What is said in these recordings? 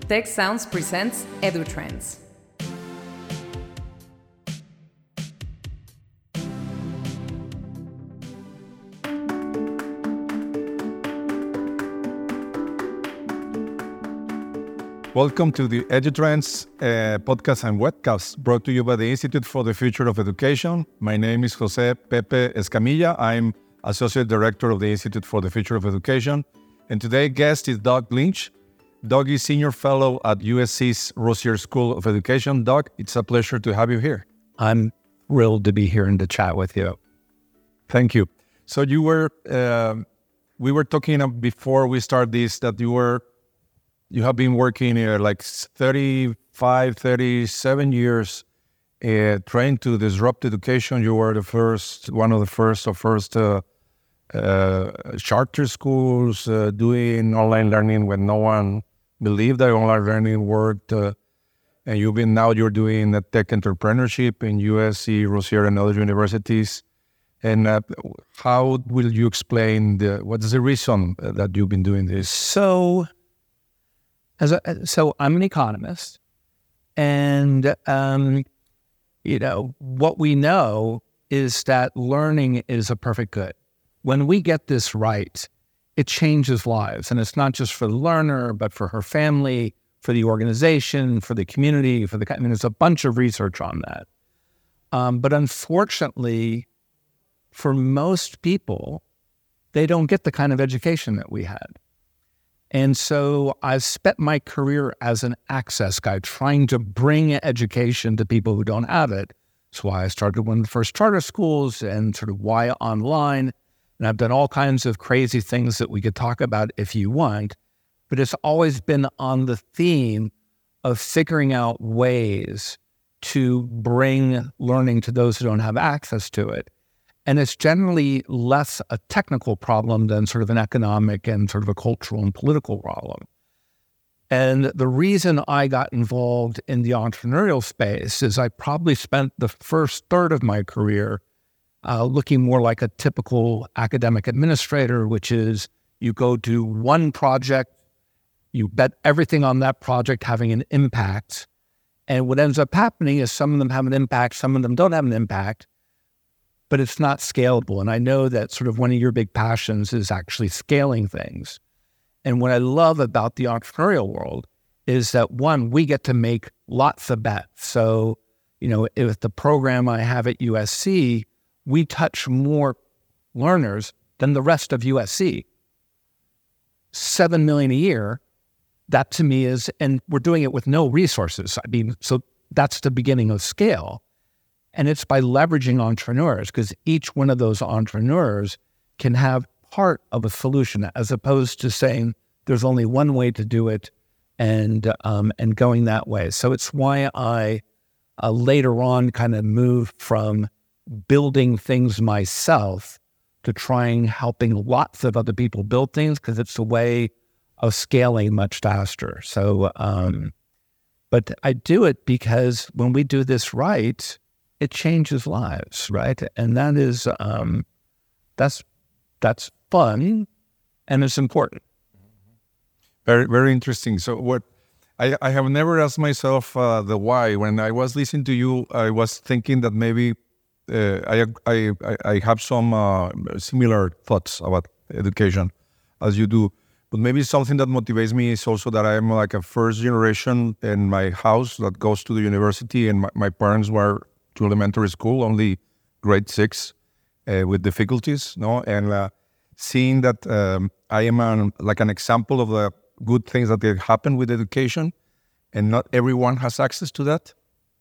Tech Sounds presents EduTrends. Welcome to the EduTrends podcast and webcast brought to you by the Institute for the Future of Education. My name is Jose Pepe Escamilla. I'm Associate Director of the Institute for the Future of Education. And today's guest is Doug Lynch. Doug is Senior Fellow at USC's Rossier School of Education. Doug, it's a pleasure to have you here. I'm thrilled to be here and to chat with you. Thank you. So we were talking before we start this that you have been working here like 35, 37 years trying to disrupt education. You were one of the first charter schools doing online learning when no one believed that online learning worked. And you're doing the tech entrepreneurship in USC, Rossier, and other universities. And how will you explain what is the reason that you've been doing this? So I'm an economist, and what we know is that learning is a perfect good. When we get this right, it changes lives, and it's not just for the learner, but for her family, for the organization, for the community, there's a bunch of research on that. But unfortunately, for most people, they don't get the kind of education that we had. And so I've spent my career as an access guy, trying to bring education to people who don't have it. That's why I started one of the first charter schools and sort of why online. And I've done all kinds of crazy things that we could talk about if you want. But it's always been on the theme of figuring out ways to bring learning to those who don't have access to it. And it's generally less a technical problem than sort of an economic and sort of a cultural and political problem. And the reason I got involved in the entrepreneurial space is I probably spent the first third of my career looking more like a typical academic administrator, which is you go do one project, you bet everything on that project having an impact. And what ends up happening is some of them have an impact, some of them don't have an impact, but it's not scalable. And I know that sort of one of your big passions is actually scaling things. And what I love about the entrepreneurial world is that, one, we get to make lots of bets. So, if the program I have at USC, we touch more learners than the rest of USC. 7 million a year, that to me is, and we're doing it with no resources. So that's the beginning of scale. And it's by leveraging entrepreneurs, because each one of those entrepreneurs can have part of a solution, as opposed to saying there's only one way to do it and going that way. So it's why I later on kind of moved from building things myself to helping lots of other people build things, because it's a way of scaling much faster. So, but I do it because when we do this right, it changes lives, right? And that is, that's fun, and it's important. Very, very interesting. So I have never asked myself the why. When I was listening to you, I was thinking that maybe I have some similar thoughts about education as you do. But maybe something that motivates me is also that I'm like a first generation in my house that goes to the university, and my parents were to elementary school, only grade 6 with difficulties, and seeing that I am an example of the good things that happen with education, and not everyone has access to that.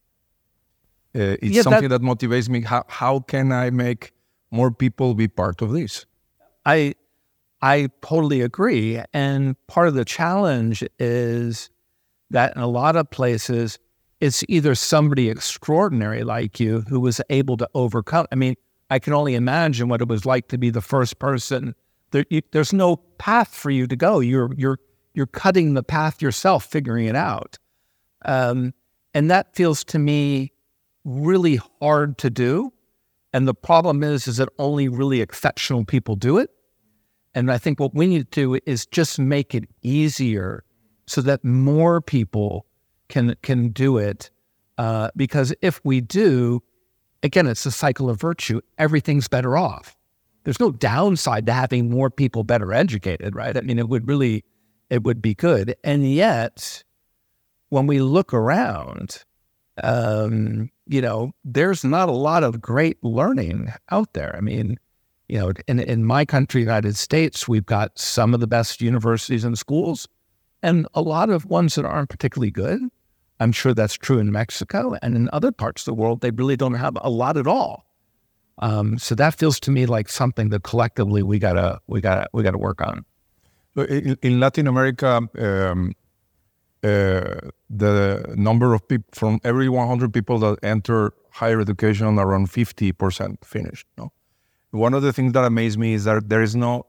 It's something that motivates me. How can I make more people be part of this? I totally agree. And part of the challenge is that in a lot of places, it's either somebody extraordinary like you who was able to overcome. I mean, I can only imagine what it was like to be the first person. There's no path for you to go. You're cutting the path yourself, figuring it out. And that feels to me really hard to do. And the problem is that only really exceptional people do it. And I think what we need to do is just make it easier so that more people can do it. Because if we do, again, it's a cycle of virtue. Everything's better off. There's no downside to having more people better educated, right? I mean, it would be good. And yet, when we look around, there's not a lot of great learning out there. I mean, in my country, United States, we've got some of the best universities and schools, and a lot of ones that aren't particularly good. I'm sure that's true in Mexico, and in other parts of the world, they really don't have a lot at all. So that feels to me like something that collectively we gotta work on. In Latin America, the number of people from every 100 people that enter higher education, around 50% finish. No? One of the things that amazed me is that there is no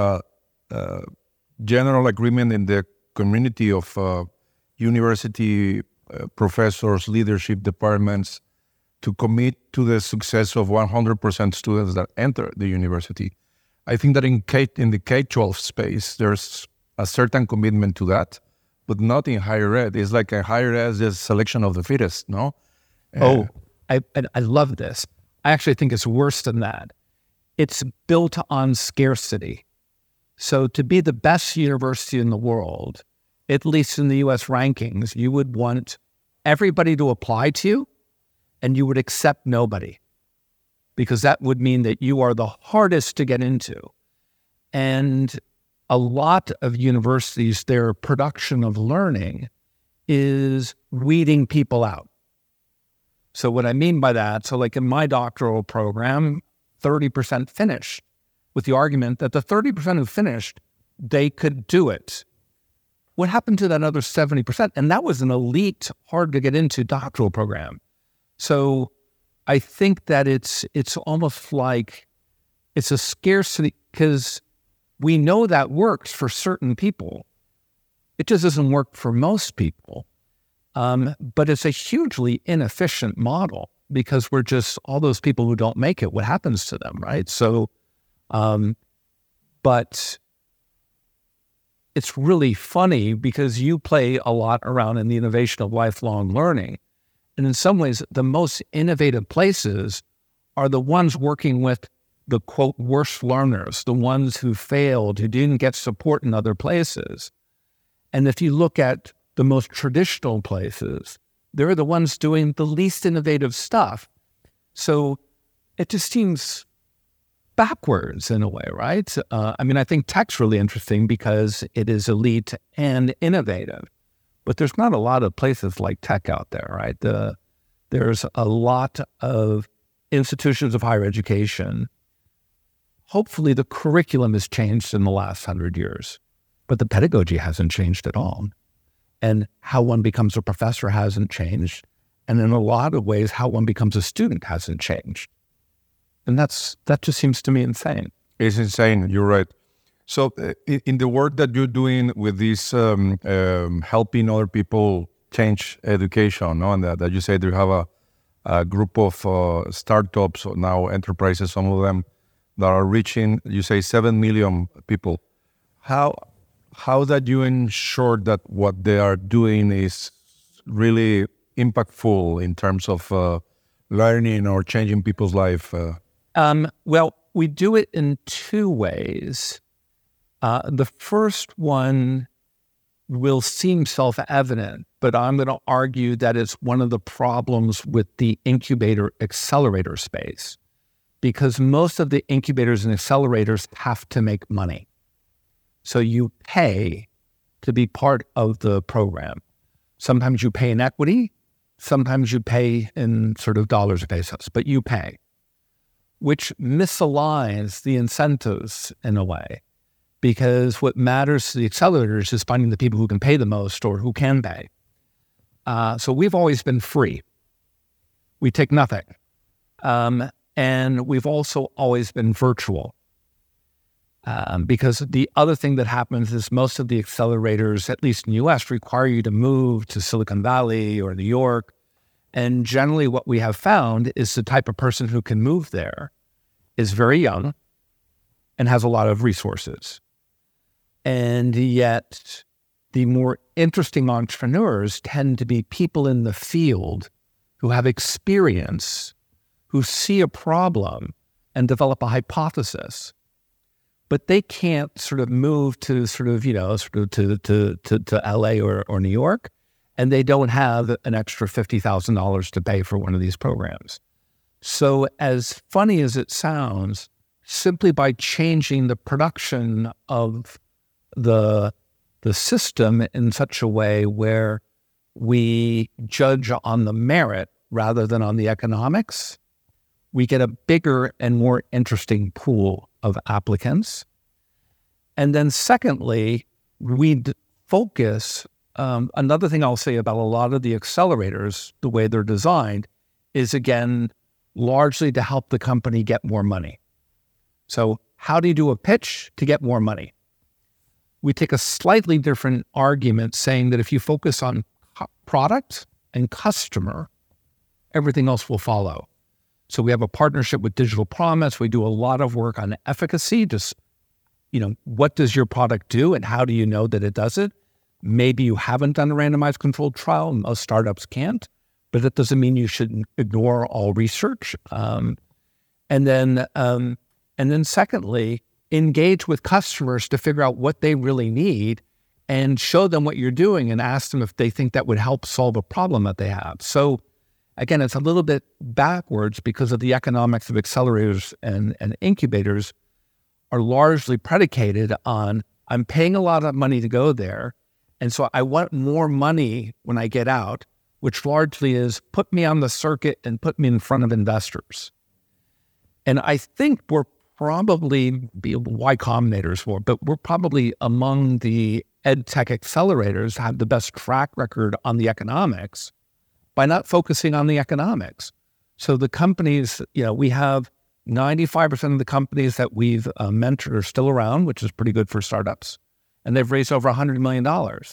general agreement in the community of university professors, leadership departments to commit to the success of 100% students that enter the university. I think that in the K-12 space, there's a certain commitment to that, but not in higher ed. It's like a higher ed is selection of the fittest, no? I love this. I actually think it's worse than that. It's built on scarcity. So to be the best university in the world, at least in the US rankings, you would want everybody to apply to you, and you would accept nobody, because that would mean that you are the hardest to get into. And a lot of universities, their production of learning is weeding people out. So what I mean by that, so like in my doctoral program, 30% finished, with the argument that the 30% who finished, they could do it. What happened to that other 70%? And that was an elite, hard to get into doctoral program. So I think that it's almost like it's a scarcity, because we know that works for certain people. It just doesn't work for most people. But it's a hugely inefficient model, because we're just all those people who don't make it, what happens to them, right? So, but it's really funny because you play a lot around in the innovation of lifelong learning. And in some ways, the most innovative places are the ones working with the, quote, worst learners, the ones who failed, who didn't get support in other places. And if you look at the most traditional places, they're the ones doing the least innovative stuff. So it just seems backwards in a way, right? I think tech's really interesting because it is elite and innovative, but there's not a lot of places like tech out there, right? There's a lot of institutions of higher education. Hopefully the curriculum has changed in the last 100 years, but the pedagogy hasn't changed at all. And how one becomes a professor hasn't changed. And in a lot of ways, how one becomes a student hasn't changed. And that just seems to me insane. It's insane. You're right. So in the work that you're doing with this, helping other people change education, no? And that you said you have a group of startups, or now enterprises, some of them, that are reaching, you say, 7 million people. How that you ensure that what they are doing is really impactful in terms of learning or changing people's life? Well, we do it in two ways. The first one will seem self-evident, but I'm going to argue that it's one of the problems with the incubator accelerator space, because most of the incubators and accelerators have to make money. So you pay to be part of the program. Sometimes you pay in equity, sometimes you pay in sort of dollars or pesos, but you pay, which misaligns the incentives in a way, because what matters to the accelerators is finding the people who can pay the most or who can pay. So we've always been free. We take nothing. And we've also always been virtual. Because the other thing that happens is most of the accelerators, at least in the US, require you to move to Silicon Valley or New York. And generally what we have found is the type of person who can move there is very young and has a lot of resources. And yet the more interesting entrepreneurs tend to be people in the field who have experience, who see a problem and develop a hypothesis. But they can't sort of move to to LA or New York, and they don't have an extra $50,000 to pay for one of these programs. So as funny as it sounds, simply by changing the production of the system in such a way where we judge on the merit rather than on the economics, we get a bigger and more interesting pool of applicants. And then secondly, we focus, another thing I'll say about a lot of the accelerators, the way they're designed, is again, largely to help the company get more money. So how do you do a pitch to get more money? We take a slightly different argument saying that if you focus on product and customer, everything else will follow. So we have a partnership with Digital Promise. We do a lot of work on efficacy. Just, what does your product do and how do you know that it does it? Maybe you haven't done a randomized controlled trial. Most startups can't, but that doesn't mean you should ignore all research. And then secondly, engage with customers to figure out what they really need and show them what you're doing and ask them if they think that would help solve a problem that they have. So again, it's a little bit backwards because of the economics of accelerators and incubators are largely predicated on, I'm paying a lot of money to go there, and so I want more money when I get out, which largely is put me on the circuit and put me in front of investors. And I think we're probably, Y Combinator's more, but we're probably among the ed tech accelerators have the best track record on the economics by not focusing on the economics. So the companies, we have 95% of the companies that we've mentored are still around, which is pretty good for startups. And they've raised over $100 million.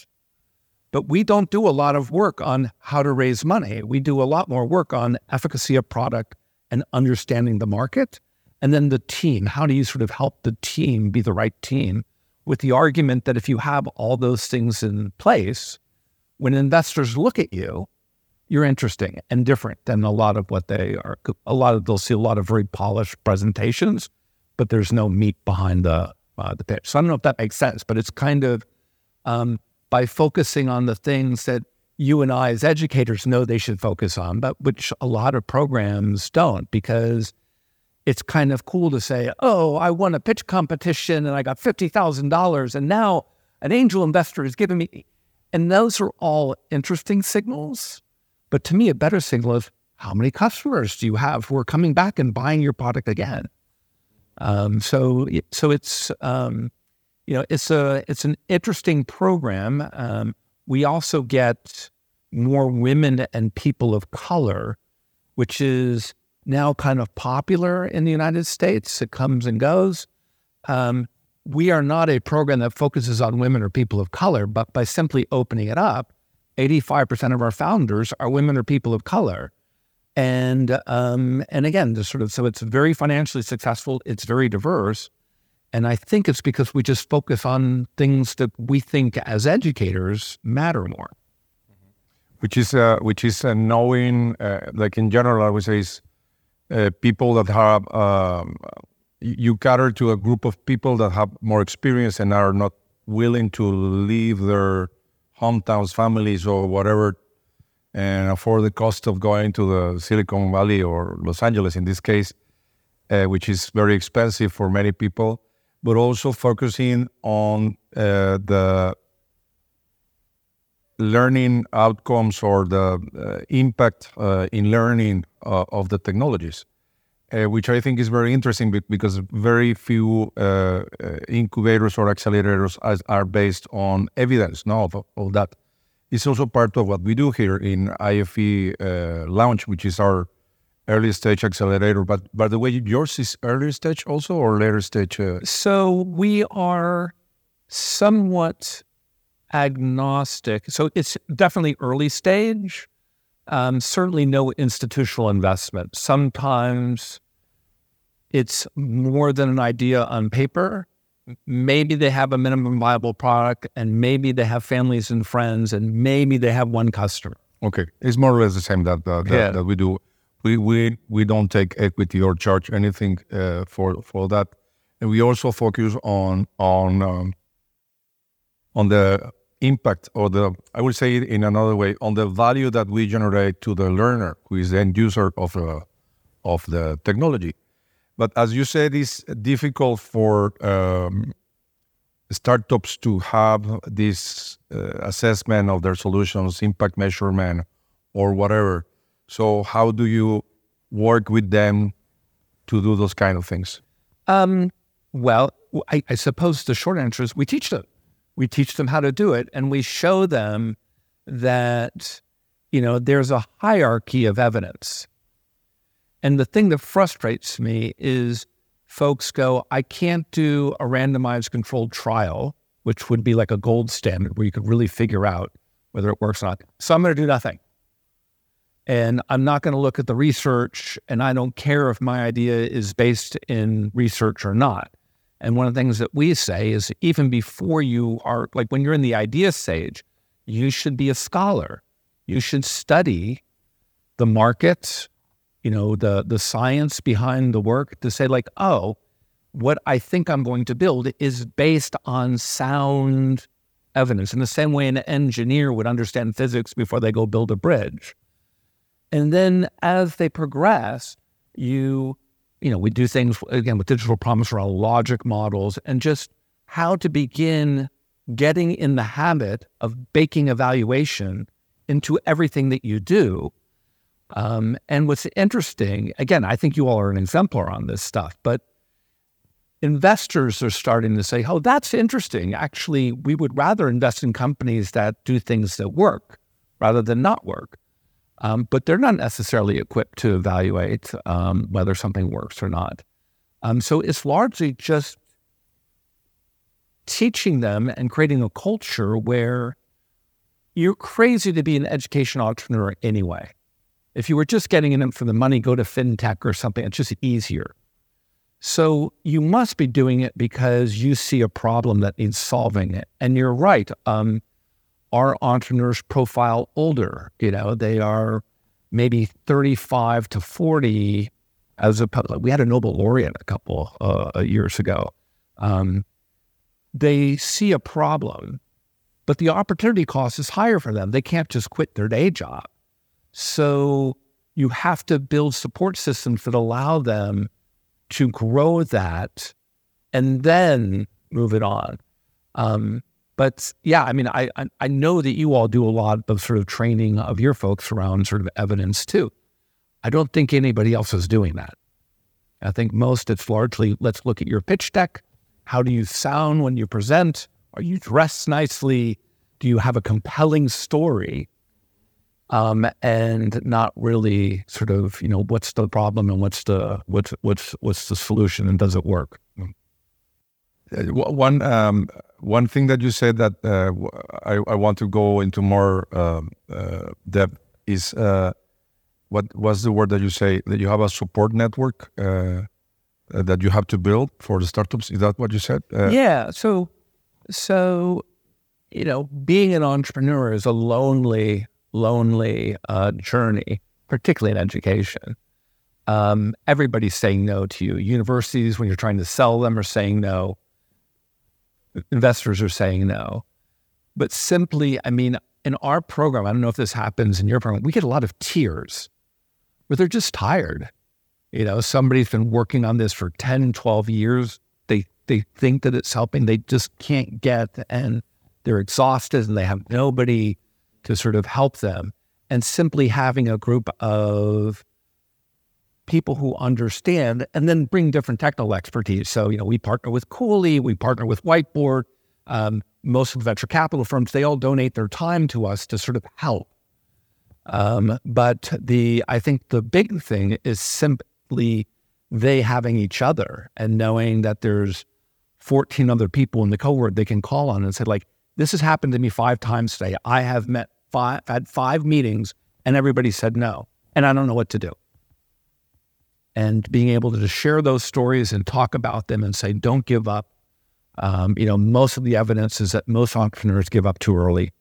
But we don't do a lot of work on how to raise money. We do a lot more work on efficacy of product and understanding the market. And then the team, how do you sort of help the team be the right team? With the argument that if you have all those things in place, when investors look at you, you're interesting and different than a lot of what they are. They'll see a lot of very polished presentations, but there's no meat behind the pitch. So I don't know if that makes sense, but it's kind of by focusing on the things that you and I as educators know they should focus on, but which a lot of programs don't, because it's kind of cool to say, oh, I won a pitch competition and I got $50,000 and now an angel investor is giving me, and those are all interesting signals. But to me, a better signal is how many customers do you have who are coming back and buying your product again? So it's it's an interesting program. We also get more women and people of color, which is now kind of popular in the United States. It comes and goes. We are not a program that focuses on women or people of color, but by simply opening it up, 85% of our founders are women or people of color. And again, so it's very financially successful. It's very diverse. And I think it's because we just focus on things that we think as educators matter more. Which is knowing, like in general, I would say is people that have, you cater to a group of people that have more experience and are not willing to leave their hometowns, families, or whatever, and afford the cost of going to the Silicon Valley or Los Angeles in this case, which is very expensive for many people, but also focusing on the learning outcomes or the impact in learning of the technologies, which I think is very interesting because very few incubators or accelerators are based on evidence of that. It's also part of what we do here in IFE Launch, which is our early stage accelerator. But by the way, yours is early stage also or later stage? So we are somewhat agnostic. So it's definitely early stage. Certainly no institutional investment. Sometimes it's more than an idea on paper. maybe they have a minimum viable product, and maybe they have families and friends, and maybe they have one customer. Okay, it's more or less the same that we do. We don't take equity or charge anything for that, and we also focus on the impact, or I would say it in another way, on the value that we generate to the learner, who is the end user of the technology. But as you said, it's difficult for startups to have this assessment of their solutions, impact measurement, or whatever. So how do you work with them to do those kind of things? Well, I suppose the short answer is we teach them. We teach them how to do it, and we show them that, there's a hierarchy of evidence. And the thing that frustrates me is folks go, I can't do a randomized controlled trial, which would be like a gold standard where you could really figure out whether it works or not. So I'm going to do nothing. And I'm not going to look at the research, and I don't care if my idea is based in research or not. And one of the things that we say is even before you are, like when you're in the idea stage, you should be a scholar. You should study the market, the science behind the work to say like, oh, what I think I'm going to build is based on sound evidence. In the same way an engineer would understand physics before they go build a bridge. And then as they progress, we do things, again, with digital promise around logic models and just how to begin getting in the habit of baking evaluation into everything that you do. And what's interesting, again, I think you all are an exemplar on this stuff, but investors are starting to say, oh, that's interesting. Actually, we would rather invest in companies that do things that work rather than not work. But they're not necessarily equipped to evaluate whether something works or not. So it's largely just teaching them and creating a culture where you're crazy to be an education entrepreneur anyway. If you were just getting in it for the money, go to fintech or something. It's just easier. So you must be doing it because you see a problem that needs solving it. And you're right. Our entrepreneurs profile older, they are maybe 35 to 40 we had a Nobel laureate a couple years ago. They see a problem, but the opportunity cost is higher for them. They can't just quit their day job. So you have to build support systems that allow them to grow that and then move it on. But yeah, I mean, I know that you all do a lot of sort of training of your folks around sort of evidence too. I don't think anybody else is doing that. I think most it's largely, let's look at your pitch deck. How do you sound when you present? Are you dressed nicely? Do you have a compelling story? And not really sort of, what's the problem and what's the solution and does it work? One thing that you said that I want to go into more depth is what was the word that you say, that you have a support network that you have to build for the startups? Is that what you said? Yeah. So being an entrepreneur is a lonely journey, particularly in education. Everybody's saying no to you. Universities, when you're trying to sell them, are saying no. Investors are saying no. But simply, in our program, I don't know if this happens in your program, we get a lot of tears where they're just tired. Somebody's been working on this for 10, 12 years. They think that it's helping. They just can't get, and they're exhausted and they have nobody to sort of help them. And simply having a group of people who understand and then bring different technical expertise. So, we partner with Cooley, we partner with Whiteboard. Most of the venture capital firms, they all donate their time to us to sort of help. But I think the big thing is simply they having each other and knowing that there's 14 other people in the cohort they can call on and say, like, this has happened to me 5 times today. I have had 5 meetings and everybody said no, and I don't know what to do. And being able to share those stories and talk about them and say, don't give up. Most of the evidence is that most entrepreneurs give up too early.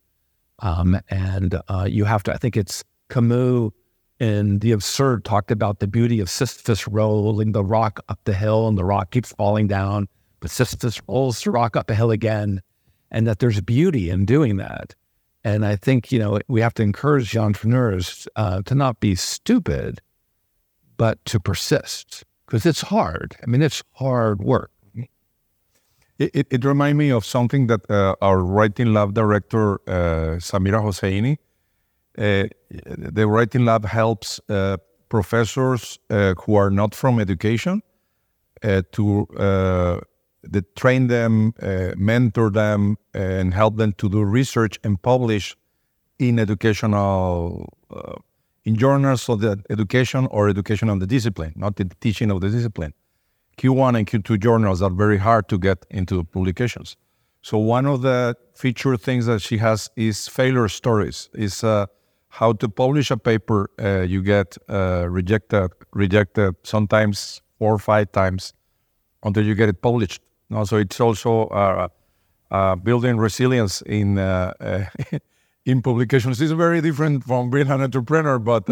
You have to, I think it's Camus in The Absurd talked about the beauty of Sisyphus rolling the rock up the hill, and the rock keeps falling down, but Sisyphus rolls the rock up a hill again, and that there's beauty in doing that. And I think, we have to encourage the entrepreneurs to not be stupid, but to persist, because it's hard. I mean, it's hard work. It reminds me of something that our Writing Lab director, Samira Hosseini, the Writing Lab helps professors who are not from education to train them, mentor them, and help them to do research and publish in educational in journals of the education or education of the discipline, not the teaching of the discipline. Q1 and Q2 journals are very hard to get into publications. So one of the feature things that she has is failure stories, is how to publish a paper. You get rejected sometimes 4 or 5 times until you get it published. So it's also building resilience in in publications. It's very different from being an entrepreneur, but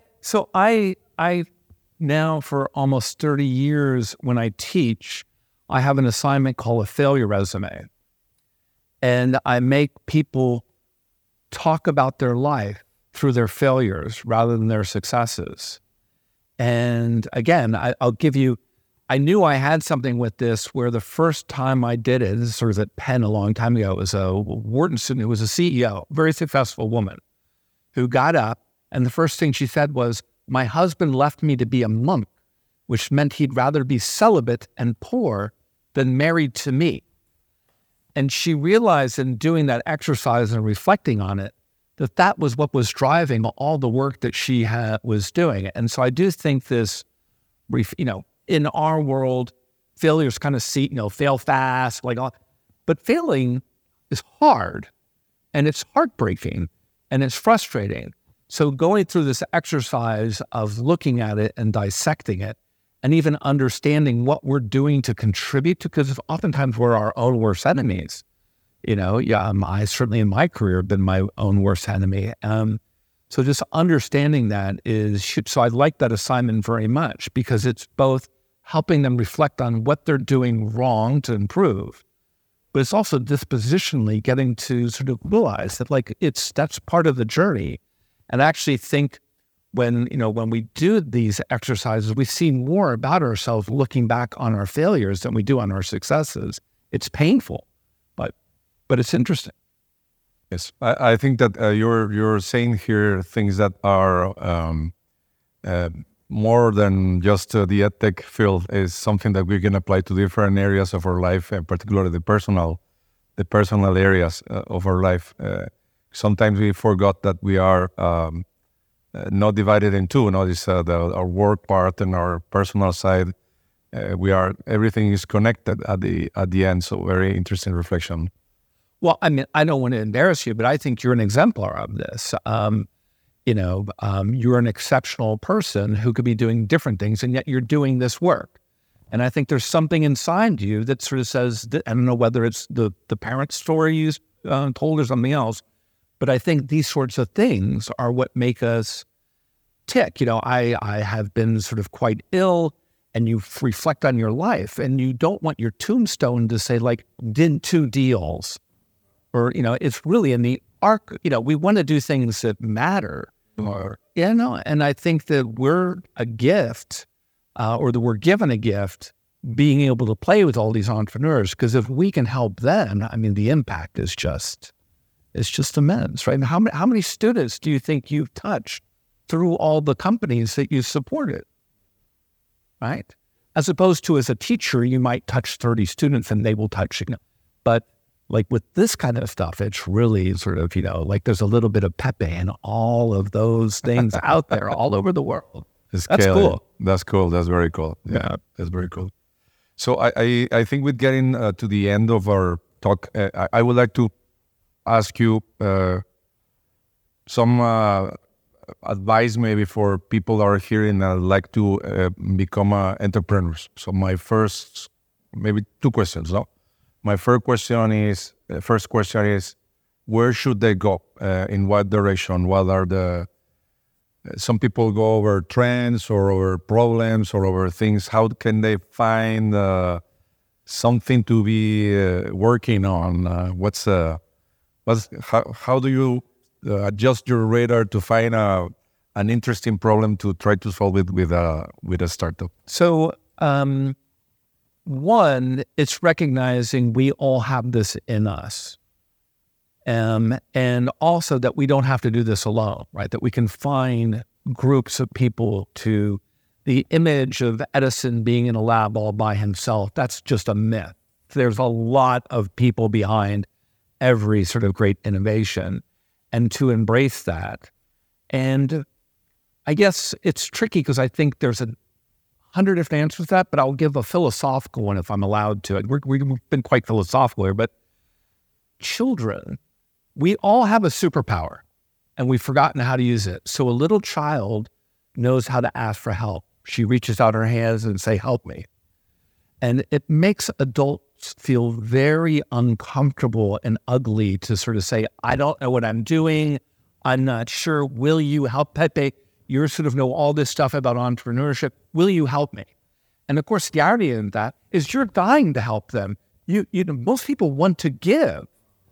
I now for almost 30 years when I teach, I have an assignment called a failure resume. And I make people talk about their life through their failures rather than their successes. And again, I'll give you, I knew I had something with this where the first time I did it, this is sort of at Penn a long time ago, it was a Wharton student who was a CEO, very successful woman, who got up and the first thing she said was, "My husband left me to be a monk, which meant he'd rather be celibate and poor than married to me." And she realized in doing that exercise and reflecting on it, that was what was driving all the work that she was doing. And so I do think this, in our world, failures kind of fail fast, but failing is hard and it's heartbreaking and it's frustrating. So going through this exercise of looking at it and dissecting it and even understanding what we're doing to contribute to, because oftentimes we're our own worst enemies. I certainly in my career have been my own worst enemy. So just understanding that so I like that assignment very much because it's both helping them reflect on what they're doing wrong to improve, but it's also dispositionally getting to sort of realize that that's part of the journey. And I actually think when we do these exercises, we see more about ourselves looking back on our failures than we do on our successes. It's painful, but it's interesting. Yes, I think that you're saying here things that are more than just the edtech field. Is something that we can apply to different areas of our life, and particularly the personal areas of our life. Sometimes we forgot that we are not divided in two. Our work part and our personal side. Everything is connected at the end. So very interesting reflection. Well, I mean, I don't want to embarrass you, but I think you're an exemplar of this. You're an exceptional person who could be doing different things, and yet you're doing this work. And I think there's something inside you that sort of says, I don't know whether it's the parent story you told or something else, but I think these sorts of things are what make us tick. I have been sort of quite ill, and you reflect on your life, and you don't want your tombstone to say, did 2 deals. Or, it's really in the arc, we want to do things that matter. And I think that we're a gift, or that we're given a gift, being able to play with all these entrepreneurs, because if we can help them, I mean, the impact is just immense, right? How many students do you think you've touched through all the companies that you supported, right? As opposed to as a teacher, you might touch 30 students and they will touch you. But with this kind of stuff, it's really sort of, there's a little bit of Pepe and all of those things out there all over the world. That's cool. That's cool. That's very cool. Yeah, that's very cool. So I think with getting to the end of our talk, I would like to ask you some advice maybe for people that are hearing and like to become entrepreneurs. So my first, maybe 2 questions, no? my first question is, where should they go? In what direction? What are the... Some people go over trends or over problems or over things. How can they find something to be working on? How do you adjust your radar to find an interesting problem to try to solve it with a startup? So, one, it's recognizing we all have this in us. And also that we don't have to do this alone, right? That we can find groups of people to... The image of Edison being in a lab all by himself, that's just a myth. There's a lot of people behind every sort of great innovation, and to embrace that. And I guess it's tricky because I think there's 100 different answers to that, but I'll give a philosophical one if I'm allowed to. We've been quite philosophical here, but children... We all have a superpower, and we've forgotten how to use it. So a little child knows how to ask for help. She reaches out her hands and say, "Help me." And it makes adults feel very uncomfortable and ugly to sort of say, "I don't know what I'm doing. I'm not sure. Will you help? Pepe, you sort of know all this stuff about entrepreneurship. Will you help me?" And of course, the irony in that is you're dying to help them. You know, most people want to give.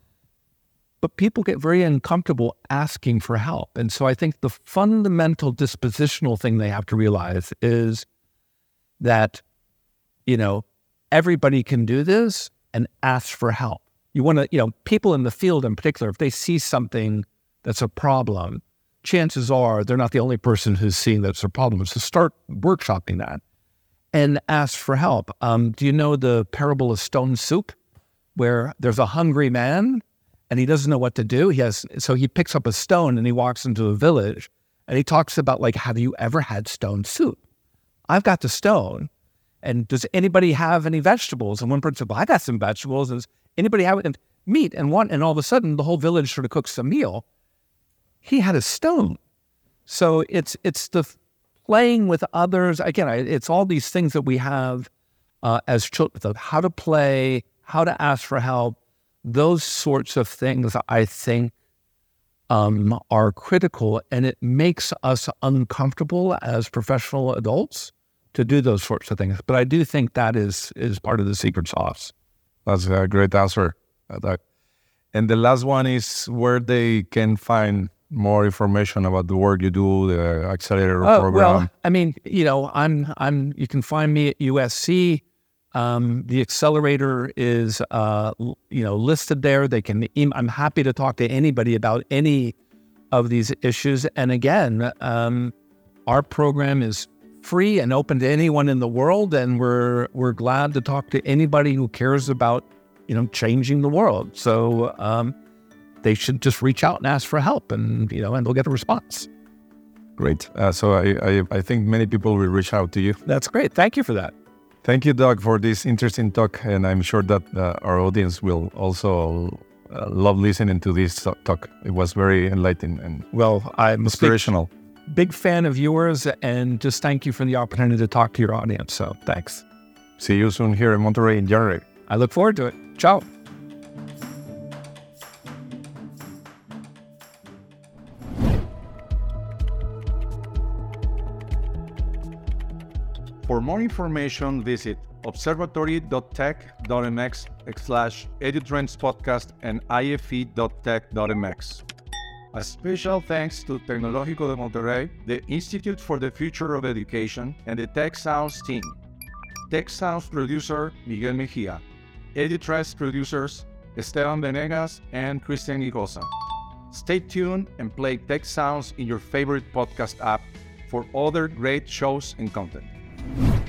But people get very uncomfortable asking for help. And so I think the fundamental dispositional thing they have to realize is that, you know, everybody can do this and ask for help. You want to, you know, people in the field in particular, if they see something that's a problem, chances are they're not the only person who's seeing that's a problem. So start workshopping that and ask for help. Do you know the parable of stone soup, where there's a hungry man and he doesn't know what to do? So he picks up a stone and he walks into a village and he talks about, like, have you ever had stone soup? I've got the stone. And does anybody have any vegetables? And one person said, well, I got some vegetables. Does anybody have meat? And all of a sudden the whole village sort of cooks a meal. He had a stone. So it's the playing with others. Again, it's all these things that we have as children, how to play, how to ask for help. Those sorts of things, I think, are critical, and it makes us uncomfortable as professional adults to do those sorts of things. But I do think that is part of the secret sauce. That's a great answer. And the last one is where they can find more information about the work you do, the accelerator program. Well, I mean, you know, you can find me at USC. The accelerator is, listed there. They can. I'm happy to talk to anybody about any of these issues. And again, our program is free and open to anyone in the world, and we're glad to talk to anybody who cares about, changing the world. So they should just reach out and ask for help, and they'll get a response. Great. So I think many people will reach out to you. That's great. Thank you for that. Thank you, Doug, for this interesting talk, and I'm sure that our audience will also love listening to this talk. It was very enlightening and I'm inspirational. Big fan of yours, and just thank you for the opportunity to talk to your audience. So thanks. See you soon here in Monterrey in January. I look forward to it. Ciao. For more information, visit observatory.tech.mx/EduTrends podcast and ife.tech.mx. A special thanks to Tecnológico de Monterrey, the Institute for the Future of Education, and the Tech Sounds team. Tech Sounds producer, Miguel Mejia. EduTrends producers, Esteban Venegas and Christian Igosa. Stay tuned and play Tech Sounds in your favorite podcast app for other great shows and content.